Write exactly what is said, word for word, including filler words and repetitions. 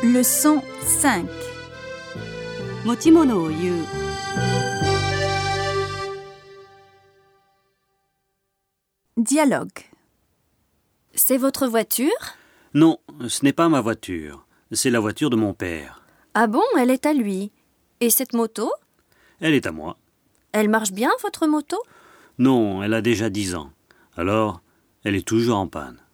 Leçon cinq. 持ち物を言う。 Dialogue. C'est votre voiture? Non, ce n'est pas ma voiture. C'est la voiture de mon père. Ah bon, elle est à lui. Et cette moto? Elle est à moi. Elle marche bien, votre moto? Non, elle a déjà dix ans. Alors, elle est toujours en panne.